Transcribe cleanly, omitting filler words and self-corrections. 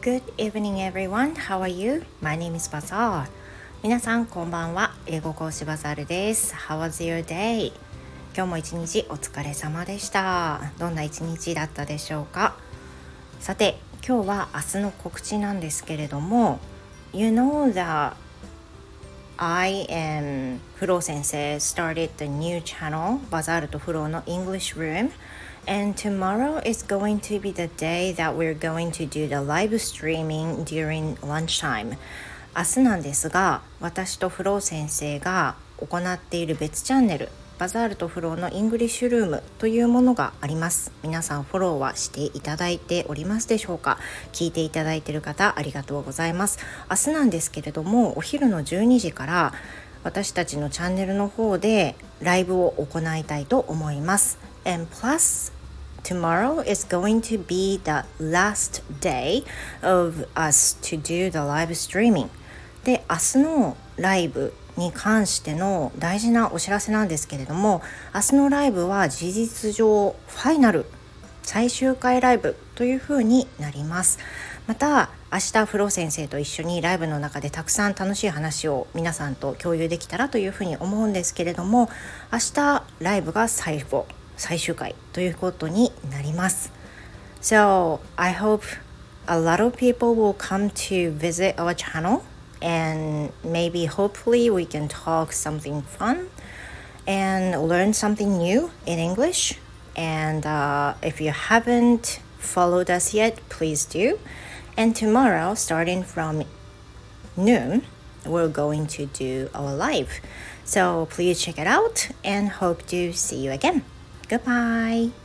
Good evening everyone. How are you? My name is Bazaar. 皆さんこんばんは。英語講師バザールです。How was your day? 今日も一日お疲れ様でした。どんな一日だったでしょうか。さて、今日は明日の告知なんですけれども、You know that I and フロー先生 started the new channel バザールとフローの English Room.And tomorrow is going to be the day that we're going to do the live streaming during lunchtime. 明日なんですが、私とフロー先生が行っている別チャンネル、バザールとフローのイングリッシュルームというものがあります。皆さんフォローはしていただいておりますでしょうか。聞いていただいている方ありがとうございます。明日なんですけれども、お昼の12時から私たちのチャンネルの方でライブを行いたいと思います。And plus,Tomorrow is going to be the last day of us to do the live streaming. で、明日のライブに関しての大事なお知らせなんですけれども、明日のライブは事実上ファイナル、最終回ライブという風になります。また明日フロー先生と一緒にライブの中でたくさん楽しい話を皆さんと共有できたらという風に思うんですけれども、明日ライブが最終回ということになります。So I hope a lot of people will come to visit our channel and maybe hopefully we can talk something fun and learn something new in English. And if you haven't followed us yet, please do. And tomorrow, starting from noon, we're going to do our live. So please check it out and hope to see you again.Goodbye.